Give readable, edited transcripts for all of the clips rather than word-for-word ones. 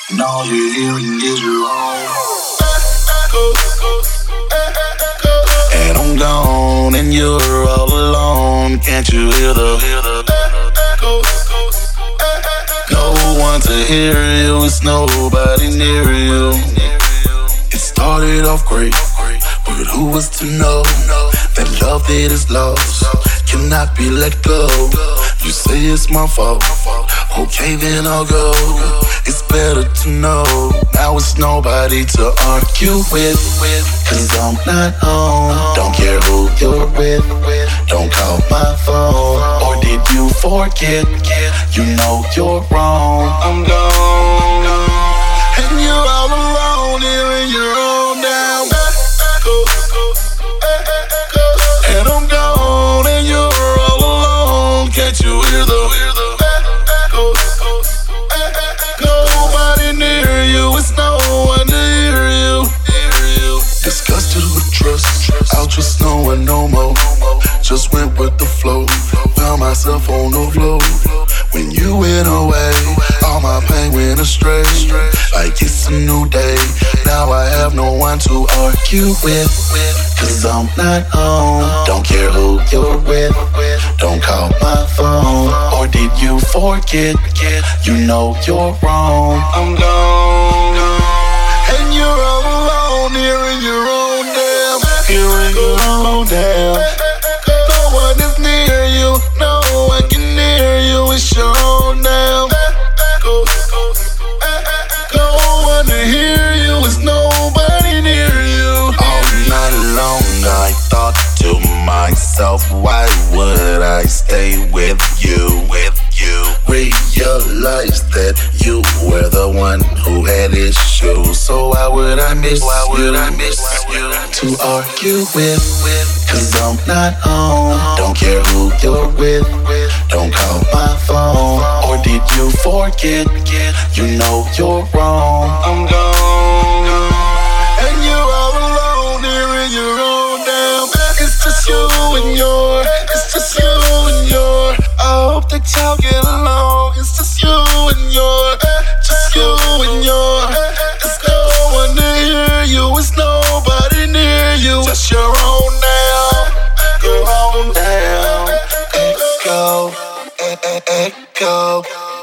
And all you're hearing is your own. And I'm gone and you're all alone. Can't you hear the no one to hear you, it's nobody near you. It started off great, but who was to know that love that is lost cannot be let go? You say it's my fault, okay then I'll go. It's better to know, now it's nobody to argue with. Cause I'm not home, don't care who you're with. Don't call my phone, or did you forget? You know you're wrong. I'm gone, and you're all alone here in your own damn. And I'm gone and you're all alone. Can't you hear the nobody near you, it's no one to hear you. Disgusted with trust, I'll trust no one no more. Just went with the flow, found myself on the floor. When you went away, all my pain went astray. Like it's a new day, now I have no one to argue with. Cause I'm not home, don't care who you're with. Don't call my phone, or did you forget? You know you're wrong. I'm gone, and you're all alone here in your own damn. Here in your own damn. No one is near you, no one can hear you. It's your own damn. No one to hear you, it's nobody near you. All night long I thought to myself, why would I stay with you? Realized that you were the one who had issues. So why would I miss you to argue with? Cause I'm not home, don't care who you're with. Don't call my phone, or did you forget? You know you're wrong. I'm gone, and you're all alone here in your own damn. It's just you and your, it's just you and your. I hope that y'all get along. It's just you and your, just you and your. There's no one to hear you, it's nobody near you. Just your own now, your own now. Echo, echo,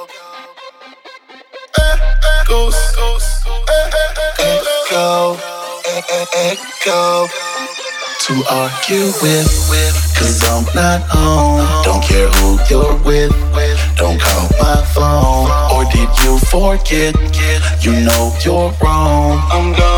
echo, echo. To argue with, cause I'm not home. Don't care who you're with. Don't call my phone, or did you forget? You know you're wrong. I'm gone.